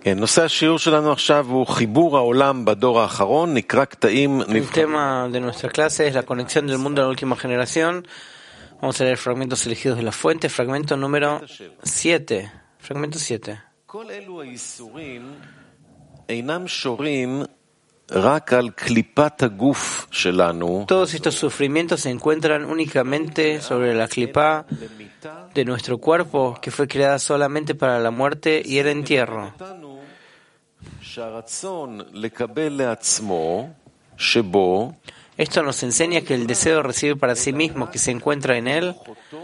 El tema de nuestra clase es la conexión del mundo en la última generación. Vamos a leer fragmentos elegidos de la fuente, fragmento número 7. Fragmento 7. Todos estos sufrimientos se encuentran únicamente sobre la clipá de nuestro cuerpo, que fue creada solamente para la muerte y el entierro. Esto nos enseña que el deseo de recibir para sí mismo que se encuentra en él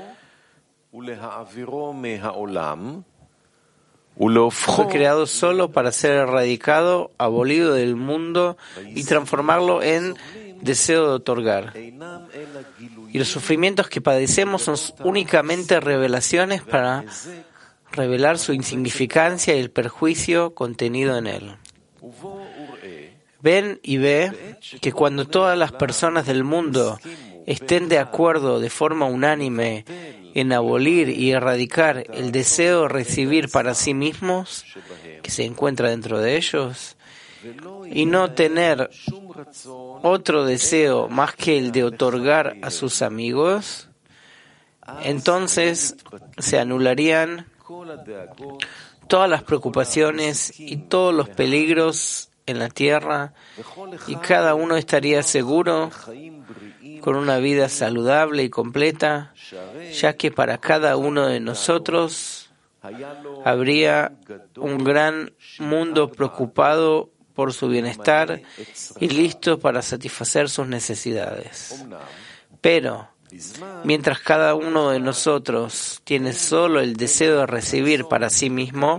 fue creado solo para ser erradicado, abolido del mundo y transformarlo en deseo de otorgar. Y los sufrimientos que padecemos son únicamente revelaciones para revelar su insignificancia y el perjuicio contenido en él. Ven y ve que cuando todas las personas del mundo estén de acuerdo de forma unánime en abolir y erradicar el deseo de recibir para sí mismos que se encuentra dentro de ellos y no tener otro deseo más que el de otorgar a sus amigos, entonces se anularían todas las preocupaciones y todos los peligros en la tierra y cada uno estaría seguro con una vida saludable y completa, ya que para cada uno de nosotros habría un gran mundo preocupado por su bienestar y listo para satisfacer sus necesidades. Pero mientras cada uno de nosotros tiene solo el deseo de recibir para sí mismo,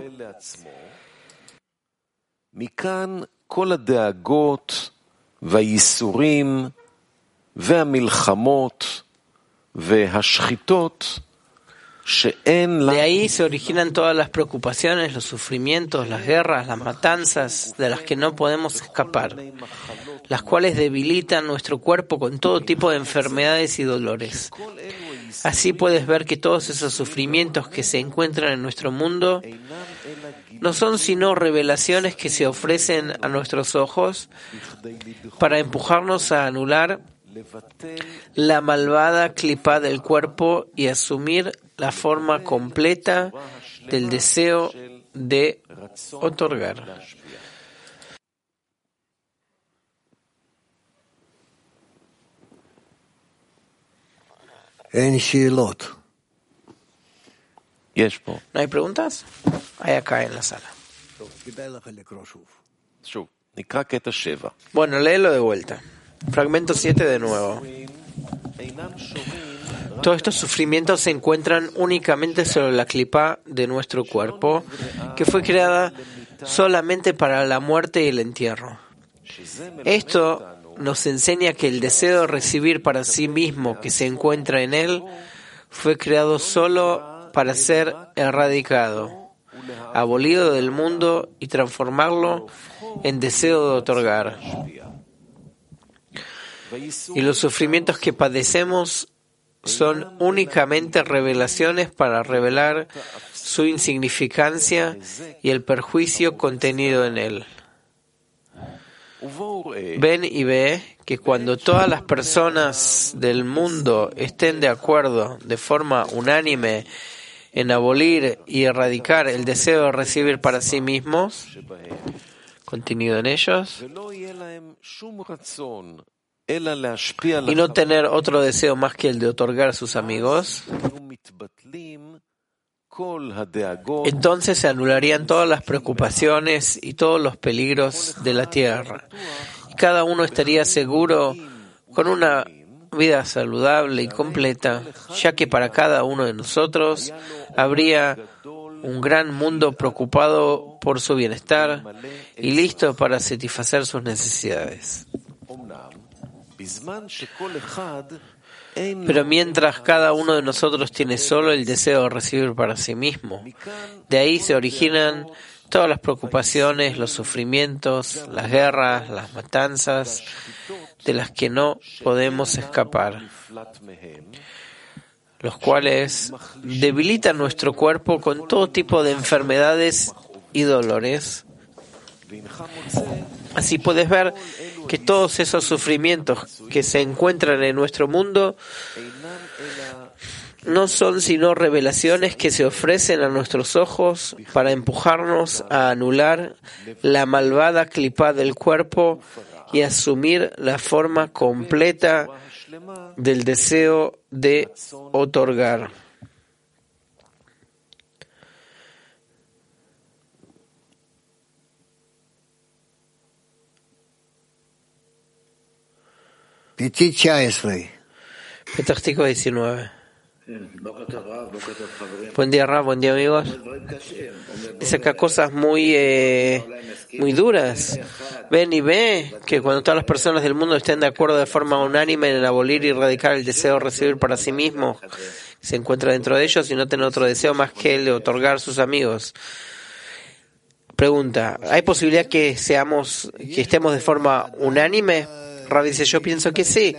de ahí se originan todas las preocupaciones, los sufrimientos, las guerras, las matanzas de las que no podemos escapar, las cuales debilitan nuestro cuerpo con todo tipo de enfermedades y dolores. Así puedes ver que todos esos sufrimientos que se encuentran en nuestro mundo no son sino revelaciones que se ofrecen a nuestros ojos para empujarnos a anular la malvada clipá del cuerpo y asumir la forma completa del deseo de otorgar. ¿No hay preguntas? Hay acá en la sala. Bueno, léelo de vuelta. Fragmento 7 de nuevo. Todos estos sufrimientos se encuentran únicamente sobre la clipá de nuestro cuerpo, que fue creada solamente para la muerte y el entierro. Esto nos enseña que el deseo de recibir para sí mismo que se encuentra en él fue creado solo para ser erradicado, abolido del mundo y transformarlo en deseo de otorgar. Y los sufrimientos que padecemos son únicamente revelaciones para revelar su insignificancia y el perjuicio contenido en él. Ven y ve que cuando todas las personas del mundo estén de acuerdo de forma unánime en abolir y erradicar el deseo de recibir para sí mismos, contenido en ellos, y no tener otro deseo más que el de otorgar a sus amigos, entonces se anularían todas las preocupaciones y todos los peligros de la tierra. Y cada uno estaría seguro con una vida saludable y completa, ya que para cada uno de nosotros habría un gran mundo preocupado por su bienestar y listo para satisfacer sus necesidades. Pero mientras cada uno de nosotros tiene solo el deseo de recibir para sí mismo, de ahí se originan todas las preocupaciones, los sufrimientos, las guerras, las matanzas, de las que no podemos escapar, los cuales debilitan nuestro cuerpo con todo tipo de enfermedades y dolores, Así puedes ver que todos esos sufrimientos que se encuentran en nuestro mundo no son sino revelaciones que se ofrecen a nuestros ojos para empujarnos a anular la malvada clipá del cuerpo y asumir la forma completa del deseo de otorgar. Petach Tikva 19. Buen día, Rab, buen día, amigos. Dice acá cosas muy duras. Ven y ve que cuando todas las personas del mundo estén de acuerdo de forma unánime en abolir y erradicar el deseo de recibir para sí mismos, se encuentra dentro de ellos y no tener otro deseo más que el de otorgar a sus amigos. Pregunta, ¿hay posibilidad que estemos de forma unánime? Rab dice, yo pienso que sí.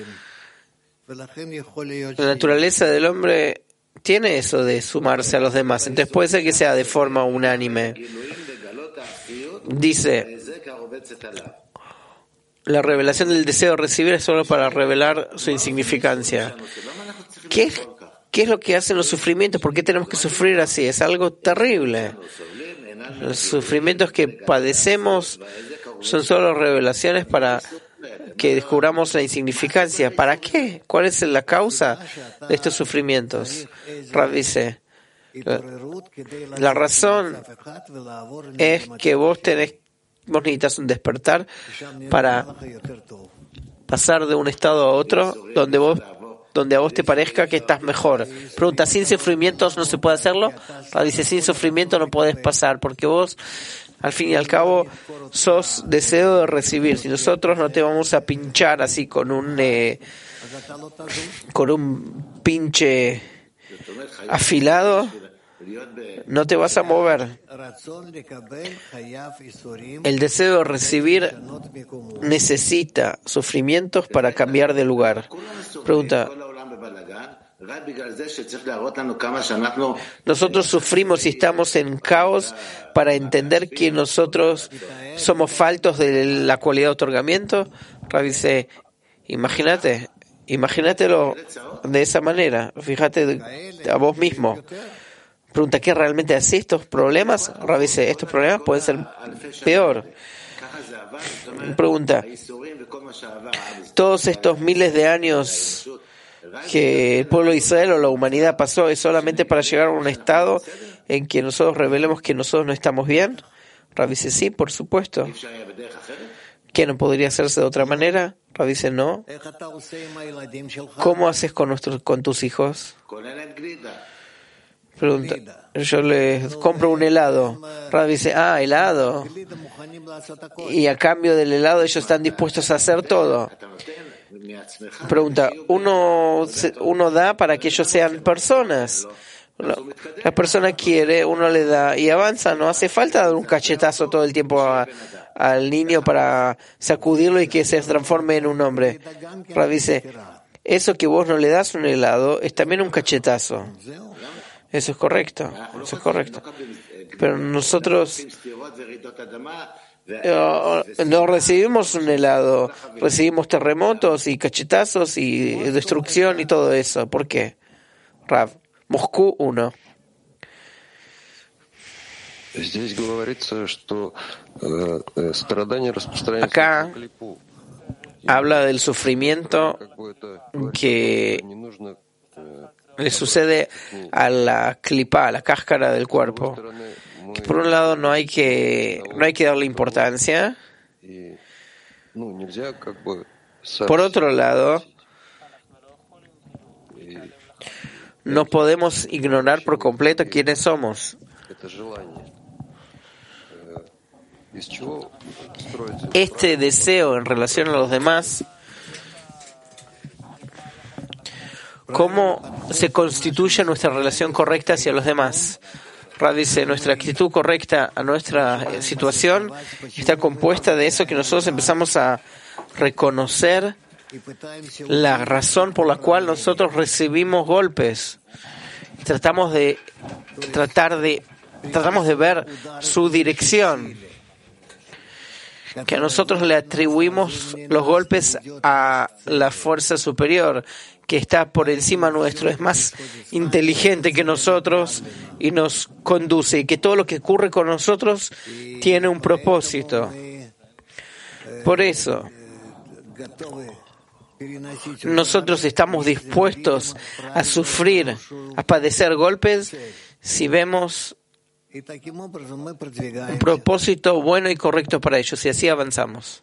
La naturaleza del hombre tiene eso de sumarse a los demás, entonces puede ser que sea de forma unánime. Dice, la revelación del deseo de recibir es solo para revelar su insignificancia. ¿Qué es lo que hacen los sufrimientos? ¿Por qué tenemos que sufrir así? Es algo terrible. Los sufrimientos que padecemos son solo revelaciones para que descubramos la insignificancia. ¿Para qué? ¿Cuál es la causa de estos sufrimientos? Rav dice, la razón es que vos necesitas un despertar para pasar de un estado a otro donde a vos te parezca que estás mejor. Pregunta, ¿sin sufrimientos no se puede hacerlo? Rav dice, sin sufrimiento no podés pasar, porque vos al fin y al cabo sos deseo de recibir. Si nosotros no te vamos a pinchar así con un pinche afilado, no te vas a mover. El deseo de recibir necesita sufrimientos para cambiar de lugar. Pregunta, nosotros sufrimos y estamos en caos para entender que nosotros somos faltos de la cualidad de otorgamiento. Rav dice, imagínatelo de esa manera, fíjate a vos mismo. Pregunta, ¿qué realmente hace estos problemas? Rav dice, estos problemas pueden ser peor. Pregunta, todos estos miles de años que el pueblo de Israel o la humanidad pasó es solamente para llegar a un estado en que nosotros revelemos que nosotros no estamos bien. Rav dice, sí, por supuesto. ¿Qué no podría hacerse de otra manera? Rav dice, no. ¿Cómo haces con tus hijos? Pregunta, yo les compro un helado. Rav dice, helado. Y a cambio del helado ellos están dispuestos a hacer todo. Pregunta, uno da para que ellos sean personas. La persona quiere, uno le da y avanza. No hace falta dar un cachetazo todo el tiempo al niño para sacudirlo y que se transforme en un hombre. Rav dice, eso que vos no le das un helado es también un cachetazo. Eso es correcto. Pero nosotros no recibimos un helado, recibimos terremotos y cachetazos y destrucción y todo eso. ¿Por qué? Rav, Moscú 1. Acá habla del sufrimiento que le sucede a la clipa, a la cáscara del cuerpo. Que por un lado no hay que darle importancia. Por otro lado, no podemos ignorar por completo quiénes somos. Este deseo en relación a los demás, ¿cómo se constituye nuestra relación correcta hacia los demás? Rav dice, nuestra actitud correcta a nuestra situación está compuesta de eso que nosotros empezamos a reconocer la razón por la cual nosotros recibimos golpes. Tratamos de ver su dirección. que nosotros le atribuimos los golpes a la fuerza superior que está por encima nuestro, es más inteligente que nosotros y nos conduce, y que todo lo que ocurre con nosotros tiene un propósito. Por eso, nosotros estamos dispuestos a sufrir, a padecer golpes si vemos un propósito bueno y correcto para ellos, y así avanzamos.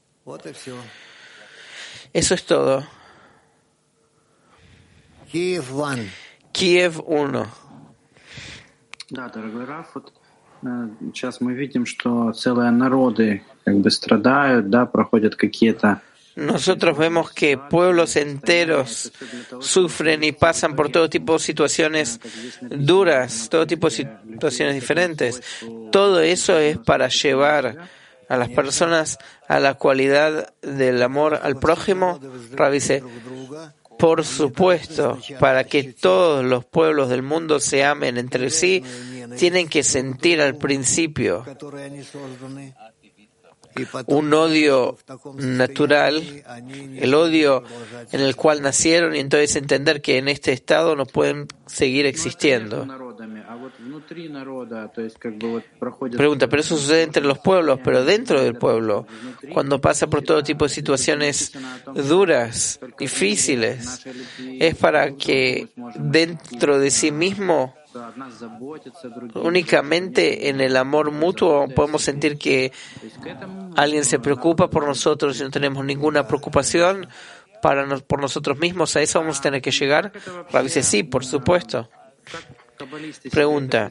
Eso es todo. Kiev 1. Да, дорогой Раф, вот сейчас мы видим, что целые народы как бы страдают, да, проходят какие-то. Nosotros vemos que pueblos enteros sufren y pasan por todo tipo de situaciones duras, todo tipo de situaciones diferentes. Todo eso es para llevar a las personas a la cualidad del amor al prójimo. Rav dice, por supuesto, para que todos los pueblos del mundo se amen entre sí, tienen que sentir al principio un odio natural, el odio en el cual nacieron, y entonces entender que en este estado no pueden seguir existiendo. Pregunta, pero eso sucede entre los pueblos, pero dentro del pueblo, cuando pasa por todo tipo de situaciones duras, difíciles, es para que dentro de sí mismo, únicamente en el amor mutuo, podemos sentir que alguien se preocupa por nosotros y no tenemos ninguna preocupación por nosotros mismos. ¿A eso vamos a tener que llegar? Rav dice, sí, por supuesto. Pregunta,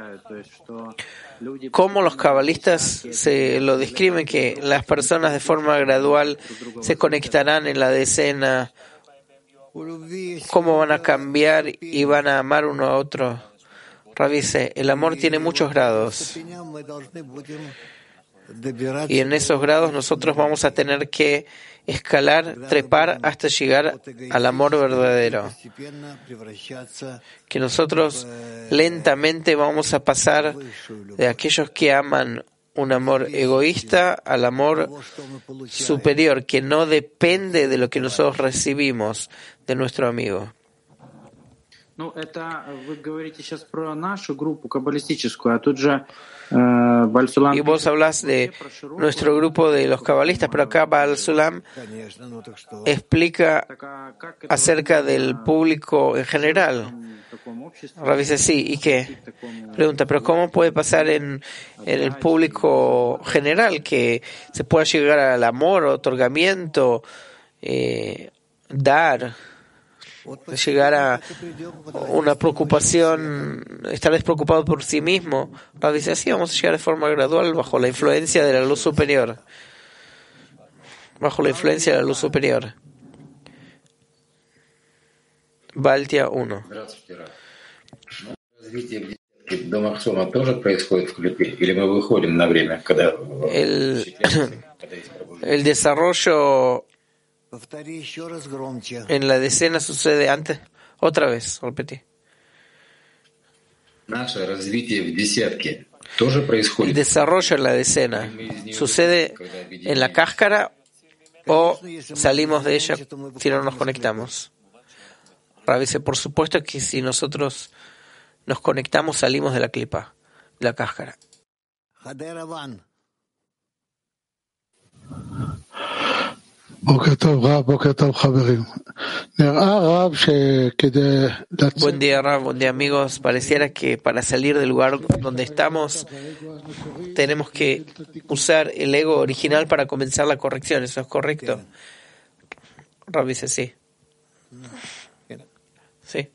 ¿cómo los cabalistas se lo describen, que las personas de forma gradual se conectarán en la decena? ¿Cómo van a cambiar y van a amar uno a otro? Rav dice, el amor tiene muchos grados. Y en esos grados nosotros vamos a tener que escalar, trepar hasta llegar al amor verdadero. Que nosotros lentamente vamos a pasar de aquellos que aman un amor egoísta al amor superior, que no depende de lo que nosotros recibimos de nuestro amigo. Ну, это вы говорите сейчас про нашу группу каббалистическую, а тут же Baal Sulam. Y vos hablas de nuestro grupo de los cabalistas, pero acá Baal Sulam explica acerca del público en general. Rav dice, sí, ¿y qué? Pregunta, pero ¿cómo puede pasar en el público general que se pueda llegar al amor, otorgamiento, dar? Llegar a una preocupación, estar despreocupado por sí mismo. Rav dice, así vamos a llegar de forma gradual bajo la influencia de la luz superior. Bajo la influencia de la luz superior. Baltia 1. El desarrollo en la decena sucede antes. Otra vez, repetí. El desarrollo en la decena sucede en la cáscara o salimos de ella si no nos conectamos. Rav dice, por supuesto que si nosotros nos conectamos salimos de la clipa, de la cáscara. Buen día, Rav, buen día, amigos. Pareciera que para salir del lugar donde estamos tenemos que usar el ego original para comenzar la corrección. ¿Eso es correcto? Rav dice sí. Sí.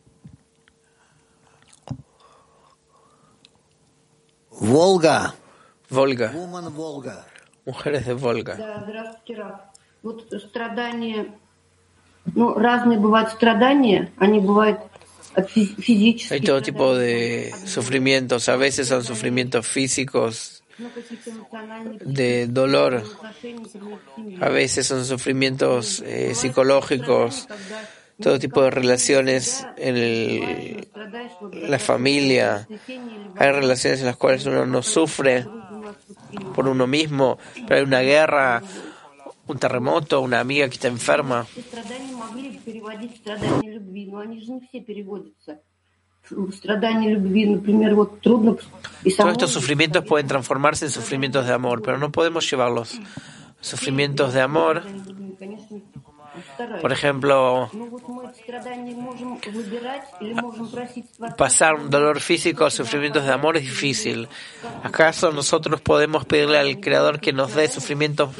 Volga. Volga. Volga. Mujeres de Volga. Вот страдания, разные бывают страдания, они бывают физические. Hay todo tipo de sufrimientos, a veces son sufrimientos físicos, de dolor, a veces son sufrimientos psicológicos, todo tipo de relaciones en la familia. Hay relaciones en las cuales uno no sufre por uno mismo, pero hay una guerra, un terremoto, una amiga que está enferma. Все страдания могли бы переводить в страдания любви, но они же не все переводятся. Страдания любви, например, вот трудно... И Todos estos sufrimientos pueden transformarse en sufrimientos de amor, pero no podemos llevarlos. Sufrimientos de amor, конечно, por ejemplo, Ну вот мы эти страдания можем выбирать или можем просить Творца. pasar un dolor físico a sufrimientos de amor es difícil. ¿Acaso nosotros podemos pedirle al Creador que nos dé sufrimientos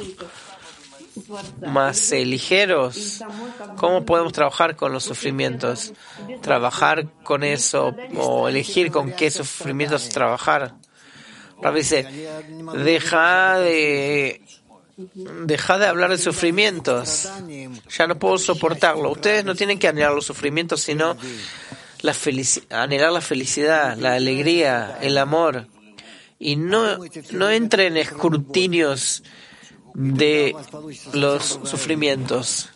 más ligeros? ¿Cómo podemos trabajar con los sufrimientos? ¿Trabajar con eso o elegir con qué sufrimientos trabajar? Rabbi dice, deja de hablar de sufrimientos. Ya no puedo soportarlo. Ustedes no tienen que anhelar los sufrimientos, sino anhelar la felicidad, la alegría, el amor. Y no entren en escrutinios de los sufrimientos.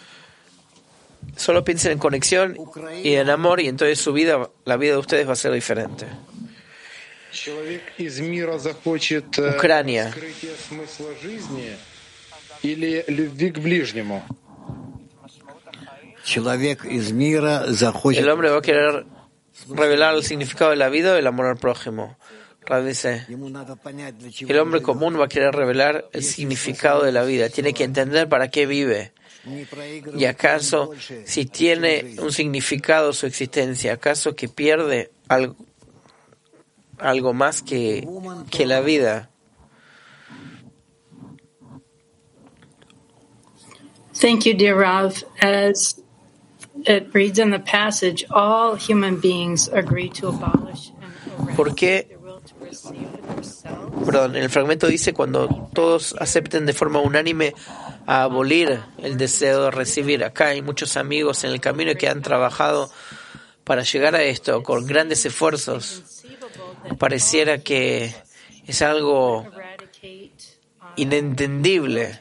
Solo piensen en conexión y en amor, y entonces la vida de ustedes va a ser diferente. Ucrania. El hombre va a querer revelar el significado de la vida y el amor al prójimo. Dice, el hombre común va a querer revelar el significado de la vida. Tiene que entender para qué vive. ¿Y acaso, si tiene un significado su existencia, acaso que pierde algo más que la vida? Thank you, dear Rav. As it reads in the passage, all human beings agree to abolish and ¿Por qué? their will to receive for themselves. Perdón, en el fragmento dice cuando todos acepten de forma unánime a abolir el deseo de recibir. Acá hay muchos amigos en el camino que han trabajado para llegar a esto con grandes esfuerzos. Pareciera que es algo inentendible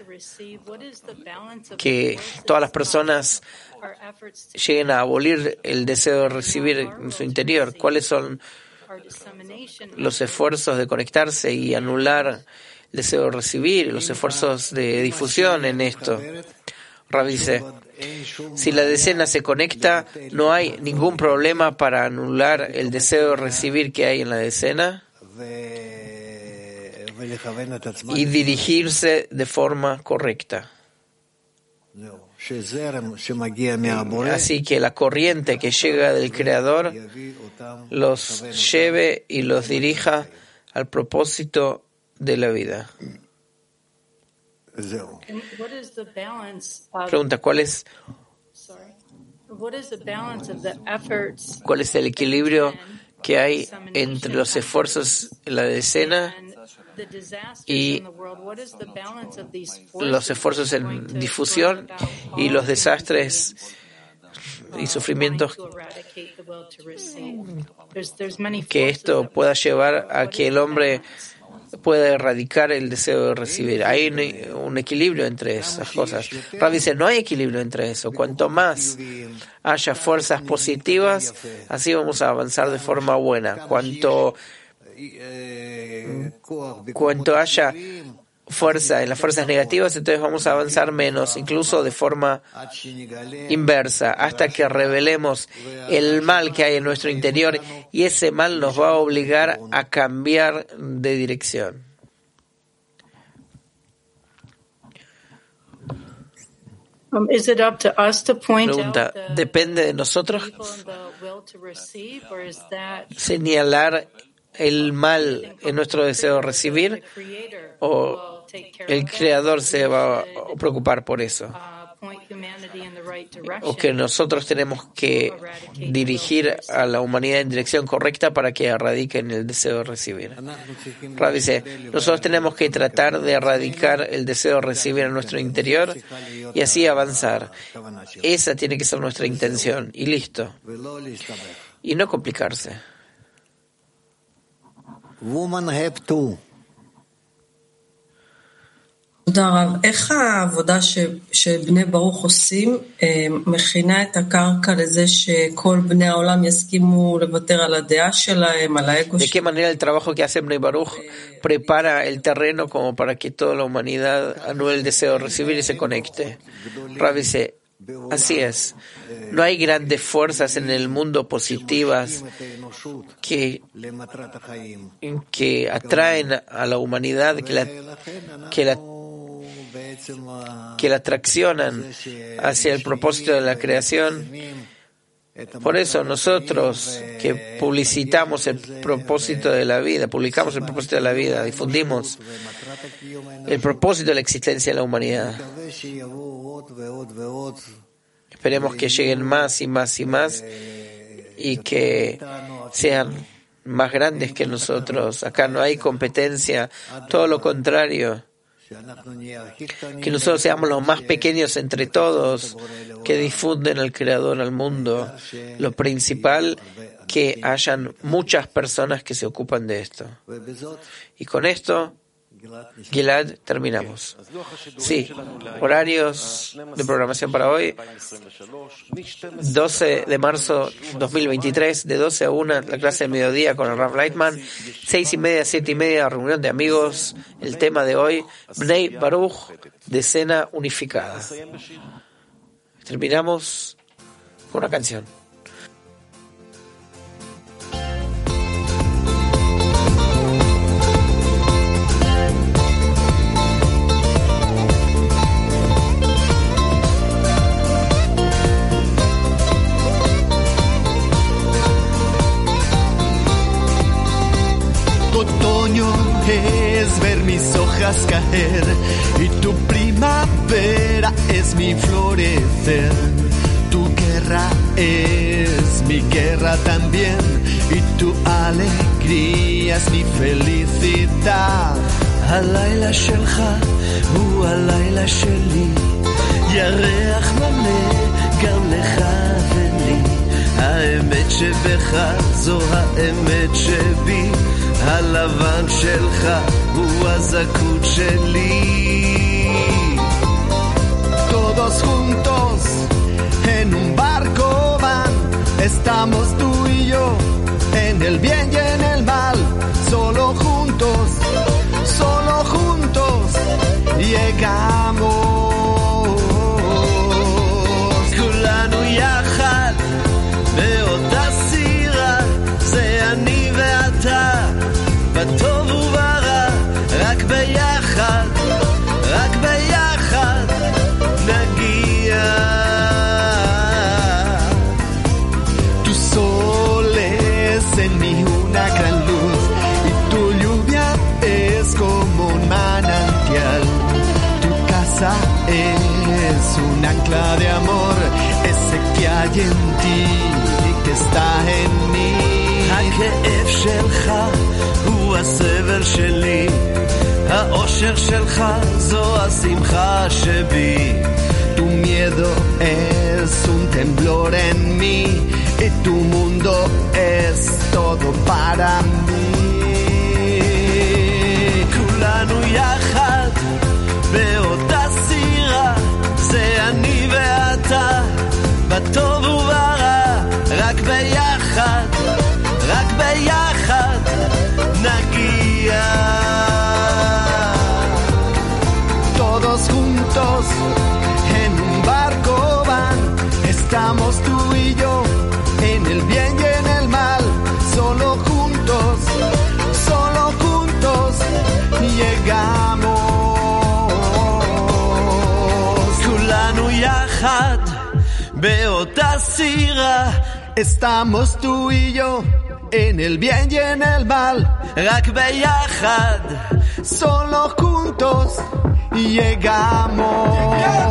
que todas las personas lleguen a abolir el deseo de recibir en su interior. ¿Cuáles son los esfuerzos de conectarse y anular el deseo de recibir, los esfuerzos de difusión en esto? Rabbi dice, si la decena se conecta, no hay ningún problema para anular el deseo de recibir que hay en la decena y dirigirse de forma correcta. Así que la corriente que llega del Creador los lleve y los dirija al propósito de la vida. Pregunta, ¿cuál es el equilibrio que hay entre los esfuerzos en la decena y los esfuerzos en difusión y los desastres y sufrimientos que esto pueda llevar a que el hombre pueda erradicar el deseo de recibir? Hay un equilibrio entre esas cosas. Rabbi dice, no hay equilibrio entre eso. Cuanto más haya fuerzas positivas, así vamos a avanzar de forma buena. Cuanto haya fuerza en las fuerzas negativas, entonces vamos a avanzar menos, incluso de forma inversa, hasta que revelemos el mal que hay en nuestro interior, y ese mal nos va a obligar a cambiar de dirección. Pregunta, ¿depende de nosotros señalar el mal en nuestro deseo de recibir, o el Creador se va a preocupar por eso? ¿O que nosotros tenemos que dirigir a la humanidad en dirección correcta para que erradiquen el deseo de recibir? Rabbi dice, nosotros tenemos que tratar de erradicar el deseo de recibir en nuestro interior y así avanzar. Esa tiene que ser nuestra intención, y listo. Y no complicarse. תודה רב. איך העבודה שבני ברוך עושים מכינה את הקרקע לזה שכל בני העולם יסכימו לוותר על הדעה שלהם, על האגו שלהם? ¿De qué manera el trabajo que hace Bnei Baruch prepara el terreno como para que toda la humanidad anule el deseo de recibir y se conecte? Rav dice, así es. No hay grandes fuerzas en el mundo positivas que atraen a la humanidad, que la traccionan hacia el propósito de la creación. Por eso nosotros que publicamos el propósito de la vida, difundimos el propósito de la existencia de la humanidad. Esperemos que lleguen más y más y más y que sean más grandes que nosotros. Acá no hay competencia, todo lo contrario. Que nosotros seamos los más pequeños entre todos, que difunden al Creador al mundo. Lo principal, que hayan muchas personas que se ocupan de esto. Y con esto, Gilad, terminamos. Sí, horarios de programación para hoy: 12 de marzo 2023, de 12 a 1, la clase de mediodía con el Rav Leitman, 6:30 a 7:30, reunión de amigos. El tema de hoy, Bnei Baruch, decena unificada. Terminamos con una canción. Es ver mis hojas caer y tu primavera es mi florecer. Tu guerra es mi guerra también y tu alegría es mi felicidad. הלילה שלך הוא הלילה שלי, ירח מלא גם לך ולי. האמת שבך זו האמת שבי, הלבן שלך הוא הזכות שלי. Todos juntos en un barco van, estamos tú y yo, en el bien y en el mal, solo juntos llegamos. כולנו יחד באותה סירה, זה אני ואתה, בטוב וברע, רק ביחד נגיע. Tú soles en mí una gran luz y tu lluvia es como un manantial. Tu casa es un ancla de amor, ese que hay en ti y que está en mí. הכאב שלך הוא הסבל שלי, האושר שלך זו השמחה שבי. Tu miedo es un temblor en mí y tu mundo es todo para mí. כולנו יחד באותה סירה, זה אני ואתה, בטוב וברע, רק ביחד נגיע. Todos juntos en un barco van, estamos tú y yo, en el bien y en el mal, solo juntos llegamos. כולנו יחד באותה סירה, estamos tú y yo, en el bien y en el mal, רק ביחד, solo juntos llegamos.